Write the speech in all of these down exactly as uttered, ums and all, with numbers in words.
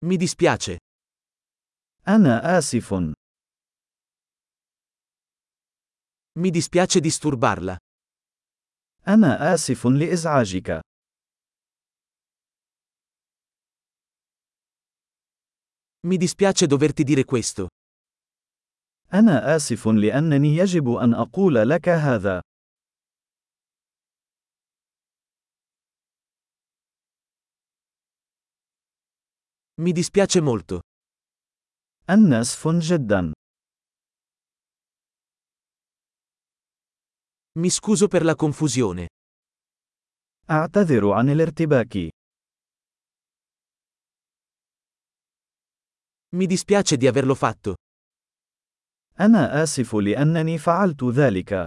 Mi dispiace. أنا آسف. Mi dispiace disturbarla. أنا آسف لإزعاجك. Mi dispiace doverti dire questo. أنا آسف لأنني يجب أن أقول لك هذا. Mi dispiace molto. أنا آسف جدا. Mi scuso per la confusione. أعتذر عن الارتباك. Mi dispiace di averlo fatto. أنا آسف لأنني فعلت ذلك.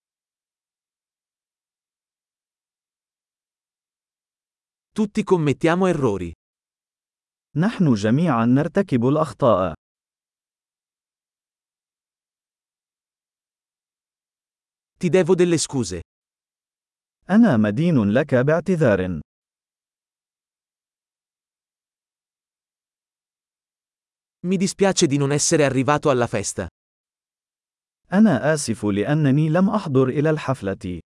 Tutti commettiamo errori. نحن جميعا نرتكب الأخطاء. Ti devo delle scuse. أنا مدين لك باعتذار. Mi dispiace di non essere arrivato alla festa. أنا آسف لأنني لم أحضر إلى الحفلة.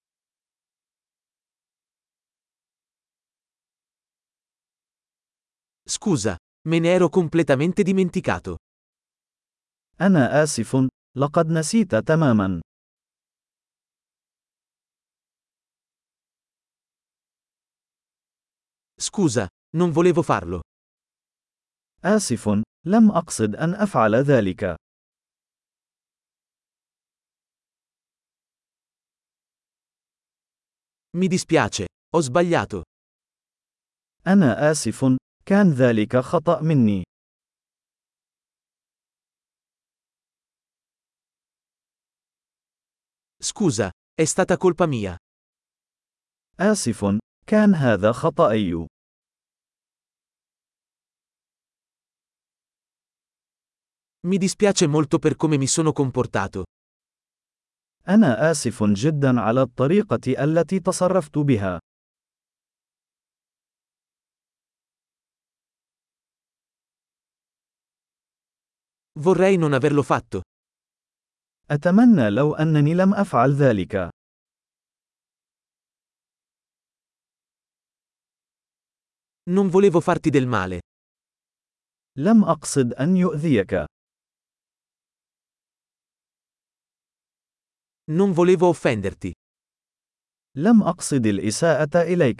Scusa, me ne ero completamente dimenticato. أنا آسف، لقد نسيت تماما. Scusa, non volevo farlo. آسف، لم أقصد أن أفعل ذلك. Mi dispiace, ho sbagliato. أنا آسف، كان ذلك خطأ مني. Scusa, è stata colpa mia. آسف، كان هذا خطأي. Mi dispiace molto per come mi sono comportato. أنا آسف جدا على الطريقة التي تصرفت بها. Vorrei non averlo fatto. أتمنى لو أنني لم أفعل ذلك. Non volevo farti del male. لم أقصد أن يؤذيك. Non volevo offenderti. لم أقصد الإساءة إليك.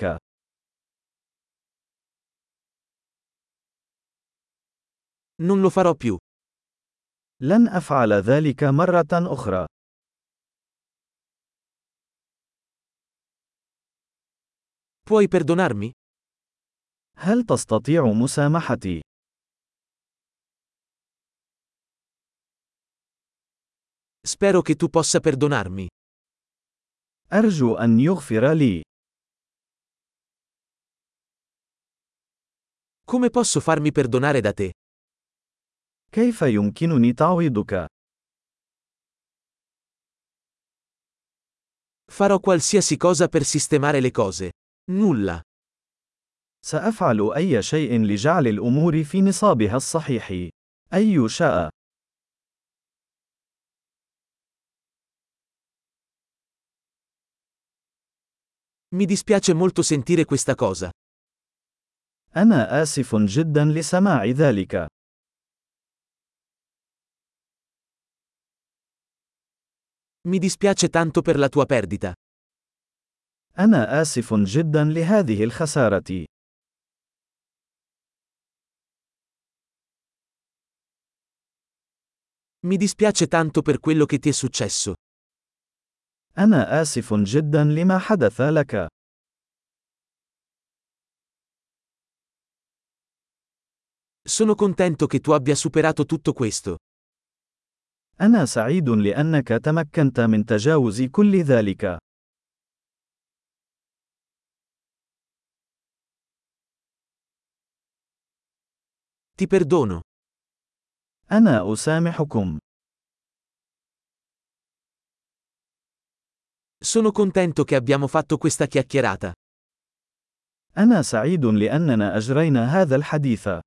Non lo farò più. لن أفعل ذلك مرة أخرى. Puoi perdonarmi? هل تستطيع مسامحتي؟ Spero che tu possa perdonarmi. أرجو أن يغفر لي. Come posso farmi perdonare da te? كيف يمكنني تعويضك؟ Farò qualsiasi cosa per sistemare le cose. Nulla. سأفعل أي شيء لجعل الأمور في نصابها الصحيح. أي شيء. Mi dispiace molto sentire questa cosa. أنا آسف جدا لسماع ذلك. Mi dispiace tanto per la tua perdita. أنا آسف جدا لهذه الخسارة. Mi dispiace tanto per quello che ti è successo. أنا آسف جدا لما حدث لك. Sono contento che tu abbia superato tutto questo. أنا سعيد لأنك تمكنت من تجاوز كل ذلك. Ti perdono. أنا أسامحكم. Sono contento che abbiamo fatto questa chiacchierata. أنا سعيد لأننا أجرينا هذا الحديث.